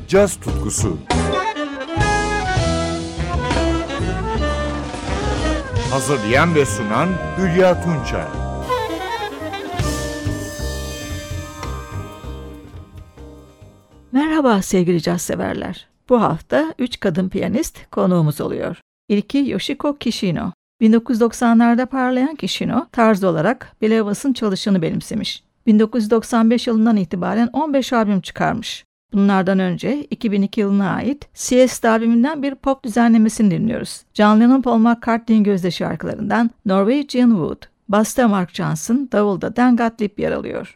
caz tutkusu. Hazırlayan ve sunan Hülya Tunçay. Merhaba sevgili caz severler. Bu hafta 3 kadın piyanist konuğumuz oluyor. İlki Yoshiko Kishino. 1990'larda parlayan Kishino, tarz olarak Bill Evans'ın çalışını benimsemiş. 1995 yılından itibaren 15 albüm çıkarmış. Bunlardan önce 2002 yılına ait Siesta albümünden bir pop düzenlemesini dinliyoruz. John Lennon Paul McCartney'in gözde şarkılarından Norwegian Wood, basta Mark Johnson, davulda Dan Gottlieb yer alıyor.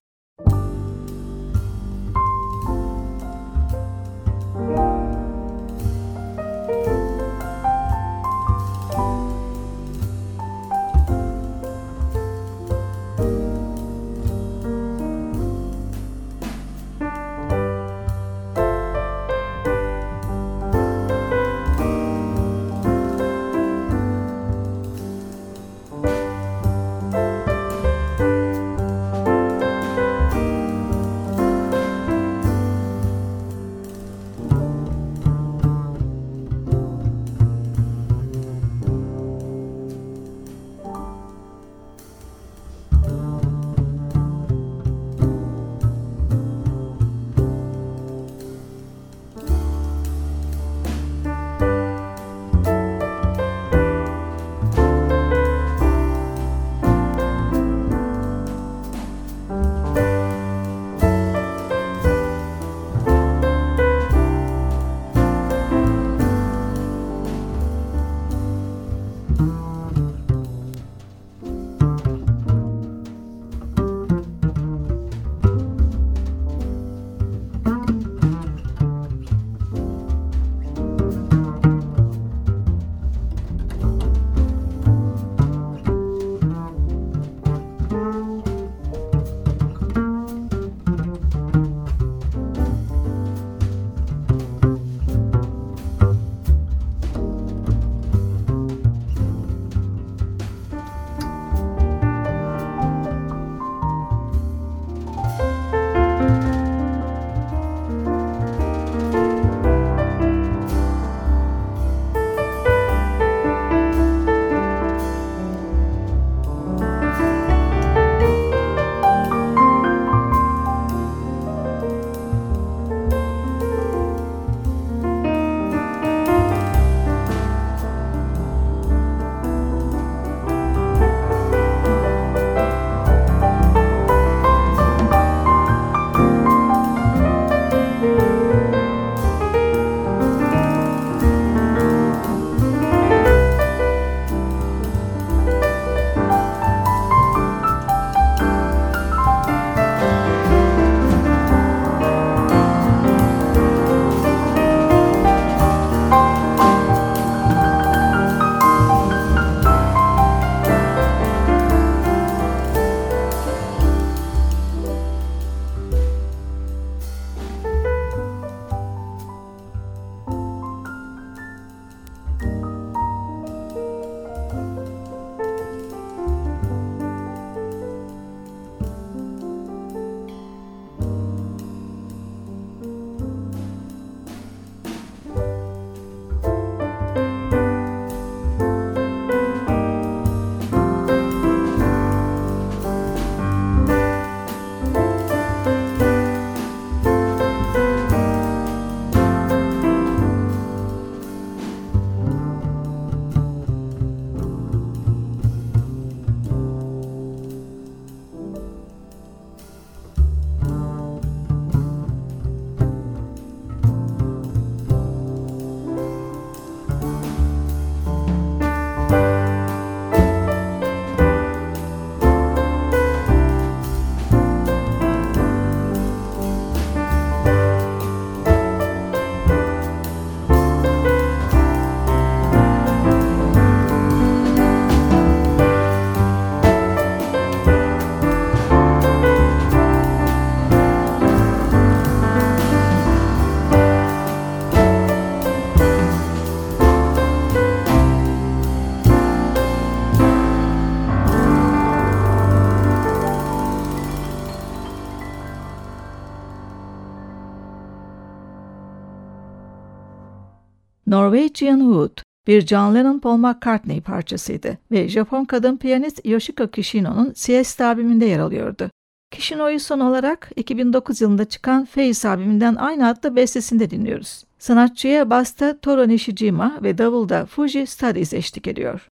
Norwegian Wood bir John Lennon-Paul McCartney parçasıydı ve Japon kadın piyanist Yoshiko Kishino'nun Siesta albümünde yer alıyordu. Kishino'yu son olarak 2009 yılında çıkan Face albümünden aynı adlı bestesinde dinliyoruz. Sanatçıya basta Toru Nishijima ve davulda Fuji Studies eşlik ediyor.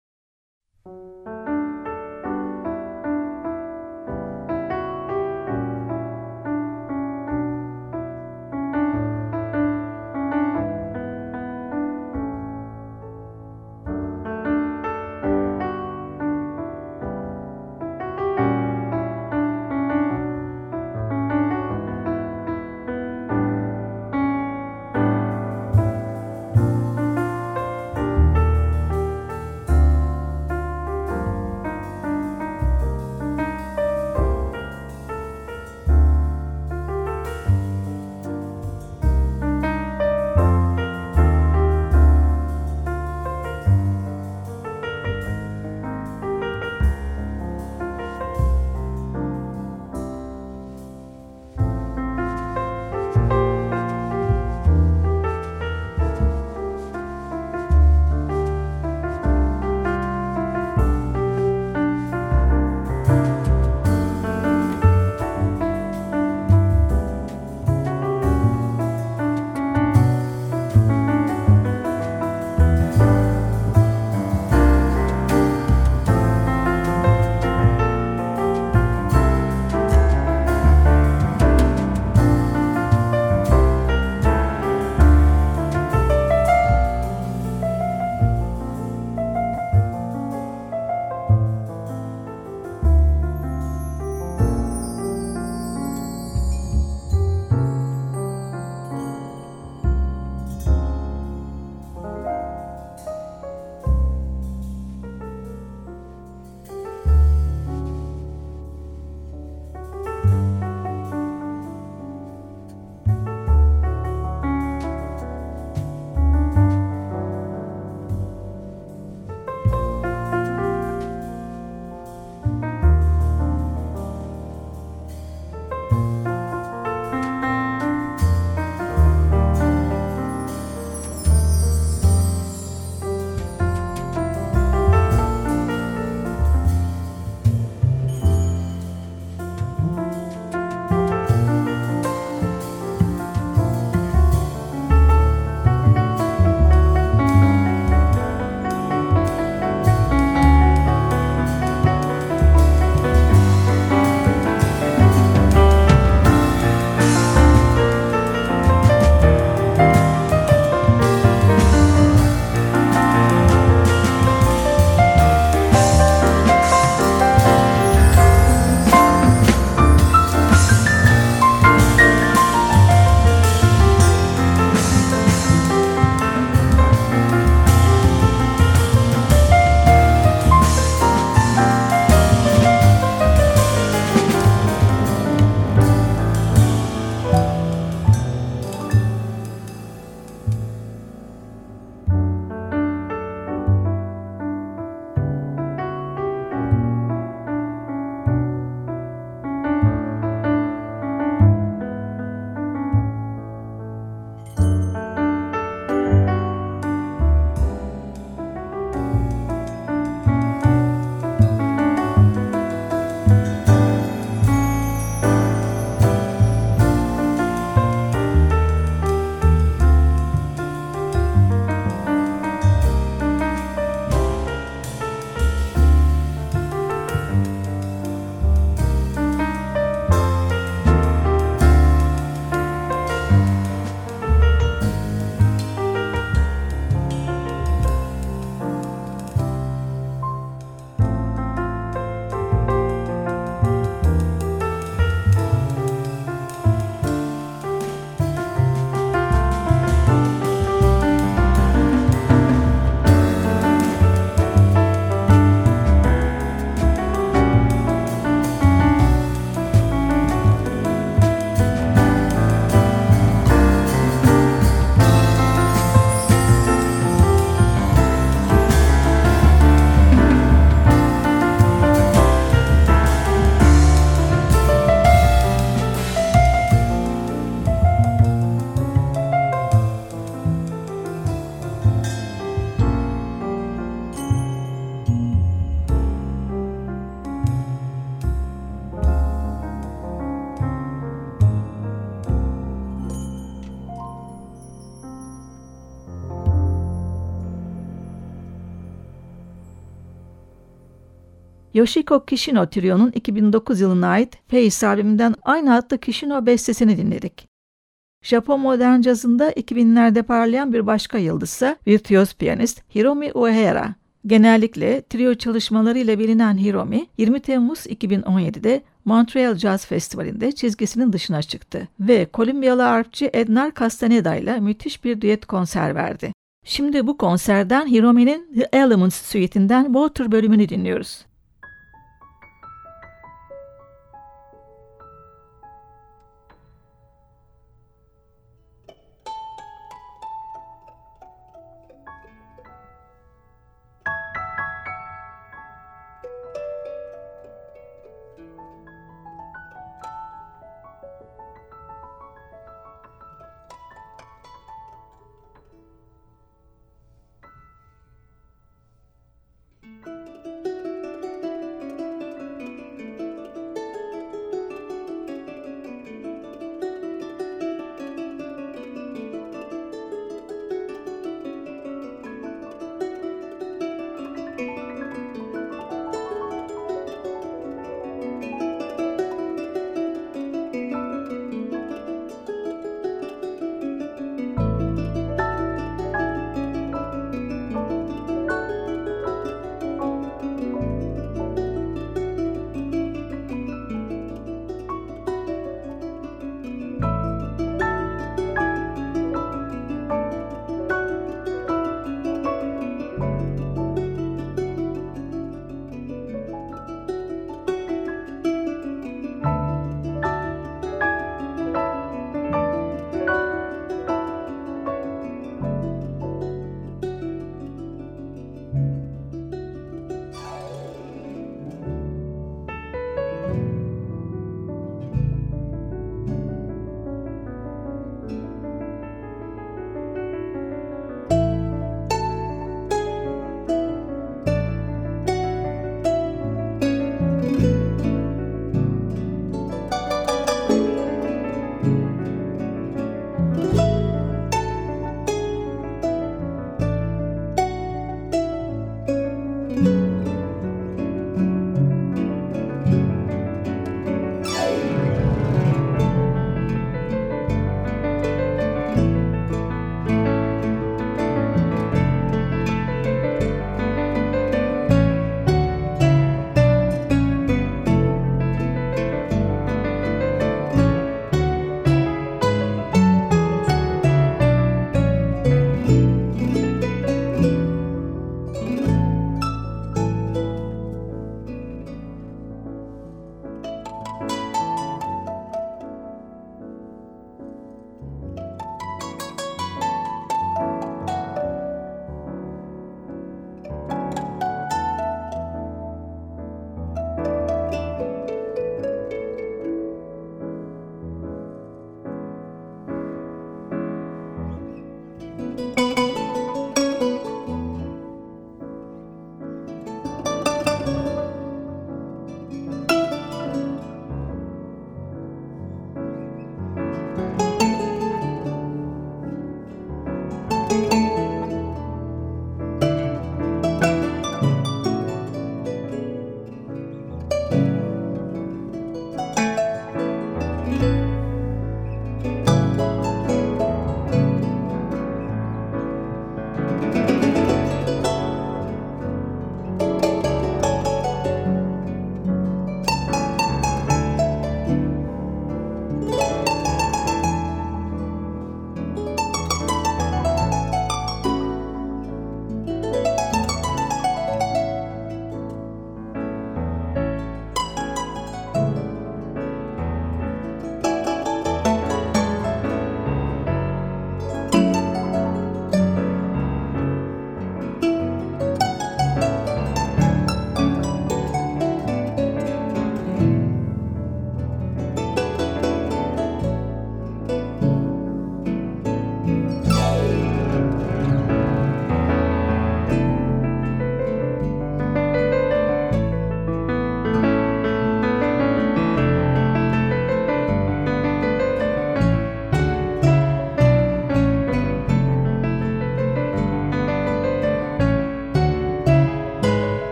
Yoshiko Kishino Trio'nun 2009 yılına ait Face albümünden aynı adlı Kishino bestesini dinledik. Japon modern cazında 2000'lerde parlayan bir başka yıldızsa virtüöz piyanist Hiromi Uehara. Genellikle trio çalışmalarıyla bilinen Hiromi, 20 Temmuz 2017'de Montreal Jazz Festivali'nde çizgisinin dışına çıktı ve Kolombiyalı arpçı Ednar Castaneda ile müthiş bir düet konser verdi. Şimdi bu konserden Hiromi'nin The Elements Suite'inden Water bölümünü dinliyoruz.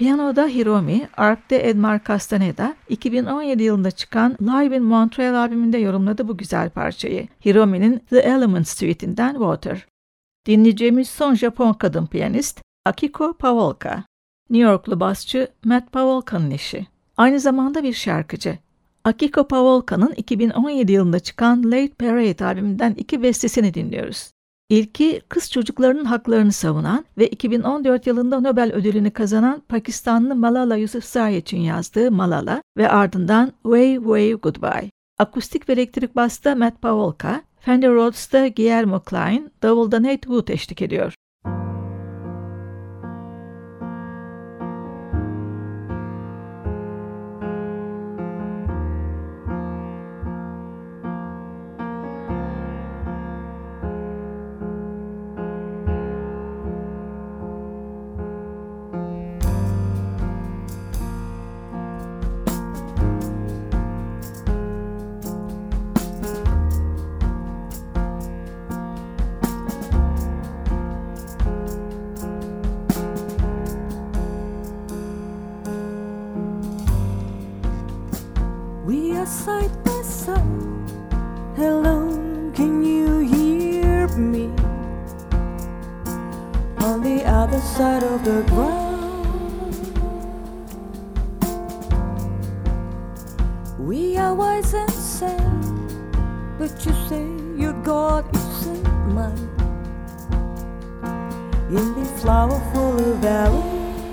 Piyanoda Hiromi, arp'te Edmar Castaneda, 2017 yılında çıkan Live in Montreal albümünde yorumladı bu güzel parçayı. Hiromi'nin The Elements Suite'inden Water. Dinleyeceğimiz son Japon kadın piyanist Akiko Pawolka. New Yorklu basçı Matt Pawolka'nın eşi. Aynı zamanda bir şarkıcı. Akiko Pawolka'nın 2017 yılında çıkan Late Parade albümünden 2 bestesini dinliyoruz. İlki kız çocuklarının haklarını savunan ve 2014 yılında Nobel ödülünü kazanan Pakistanlı Malala Yousafzai için yazdığı Malala ve ardından Way Way Goodbye. Akustik ve elektrik basta Matt Pawolka, Fender Rhodes'ta Guillermo Klein, davulda Nate Wood eşlik ediyor. We are side by side. Hello, can you hear me? On the other side of the ground, we are wise and sad, but you say your God isn't mine. In the flower-full valley,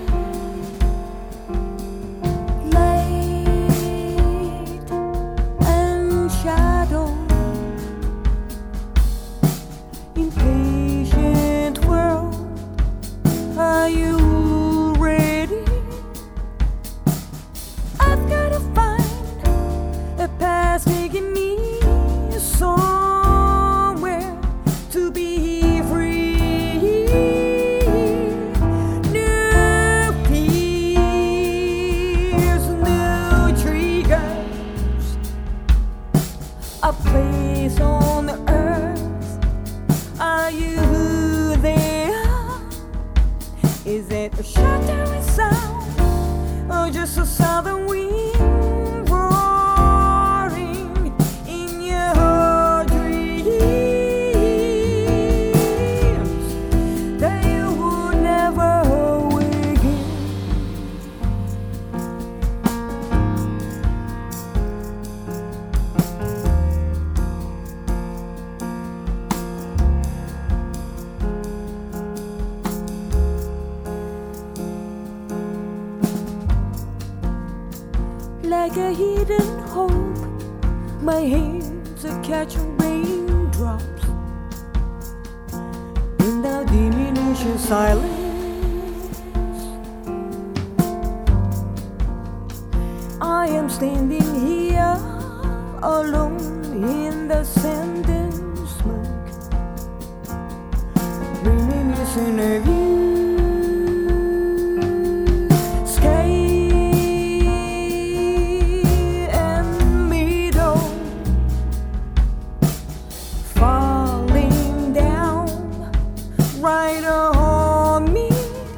a place on the earth. Are you there? Is it a shattering sound or just a southern wind roaring in your dreams that you would never wake in? Like a hidden hope, my hands are catching raindrops in the diminishing silence. I am standing here alone in the sand and smoke, reminiscing of you. Right on me,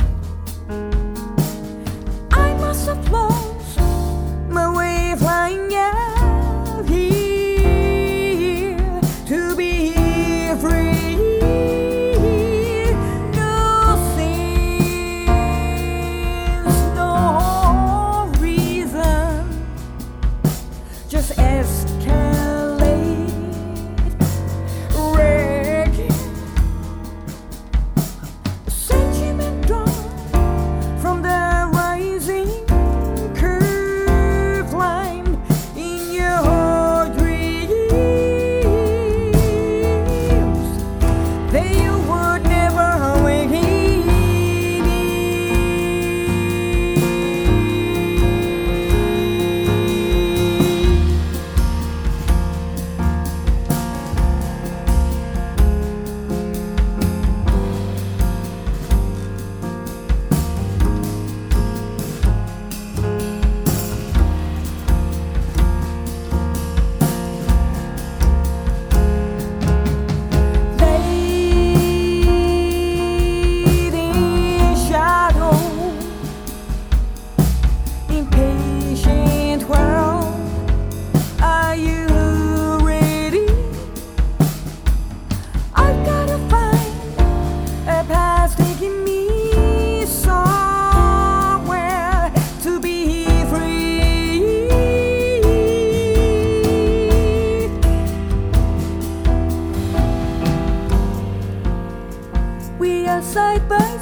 I must have lost my way flying out here to be free. No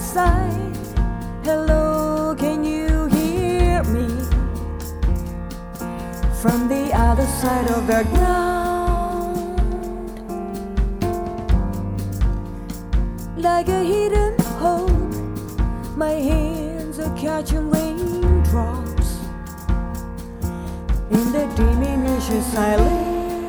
outside. Hello, can you hear me? From the other side of the ground, like a hidden hope, my hands are catching raindrops in the diminished silence.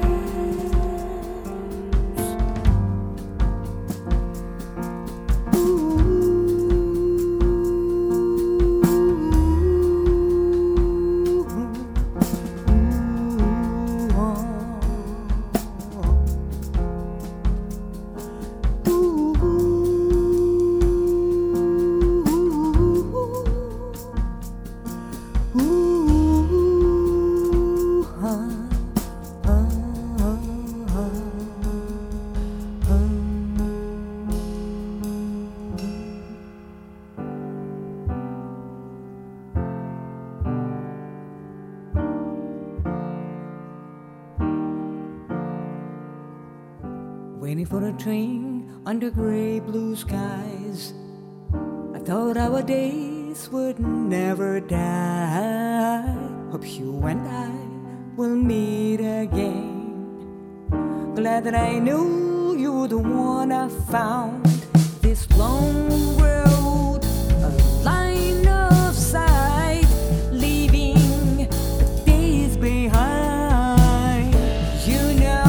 Waiting for a train under gray blue skies. I thought our days would never die. Hope you and I will meet again. Glad that I knew you were the one I found. This long road, a line of sight, leaving the days behind. You know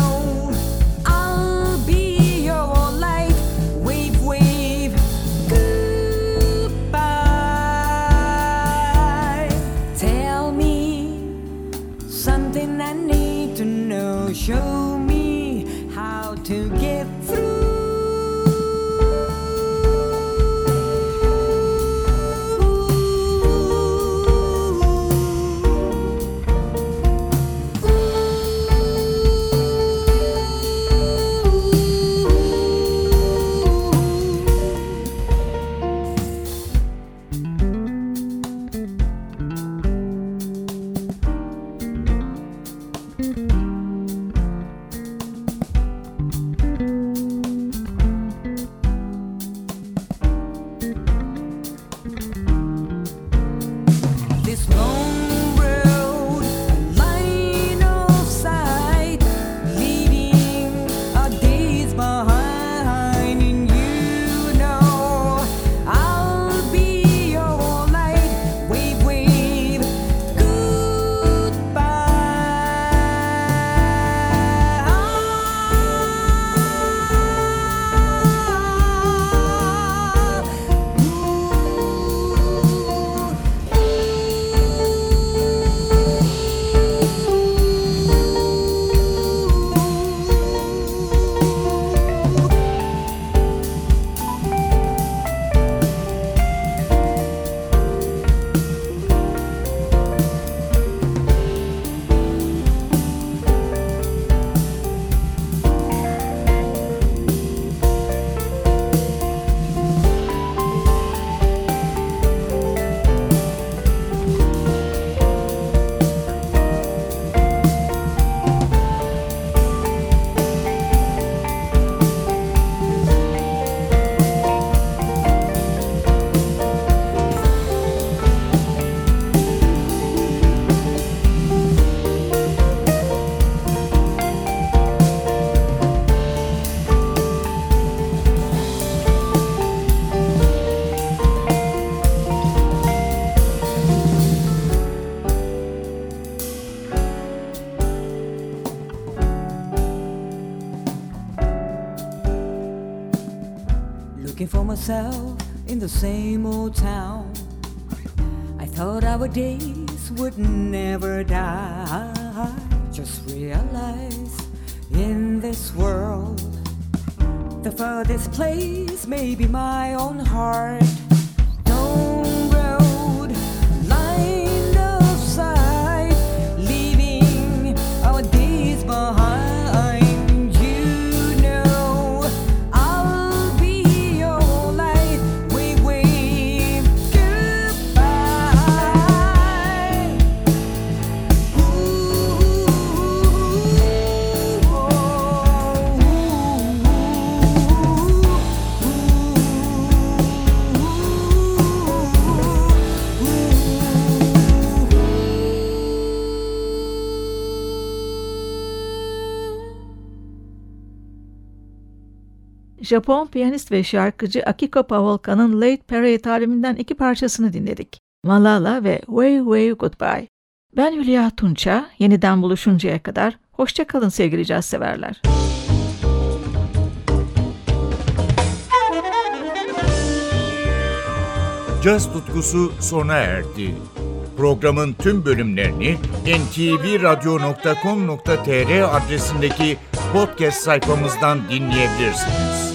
show me how to get through. Looking for myself in the same old town. I thought our days would never die. Just realized in this world, the furthest place may be my own heart. Long road, line of sight, leaving our days behind. Ooh. Japon piyanist ve şarkıcı Akiko Pavlovka'nın Late Parade albümünden 2 parçasını dinledik. Malala ve Way Way Goodbye. Ben Hülya Tunça, yeniden buluşuncaya kadar hoşça kalın sevgili caz severler. Caz tutkusu sona erdi. Programın tüm bölümlerini ntvradio.com.tr adresindeki podcast sayfamızdan dinleyebilirsiniz.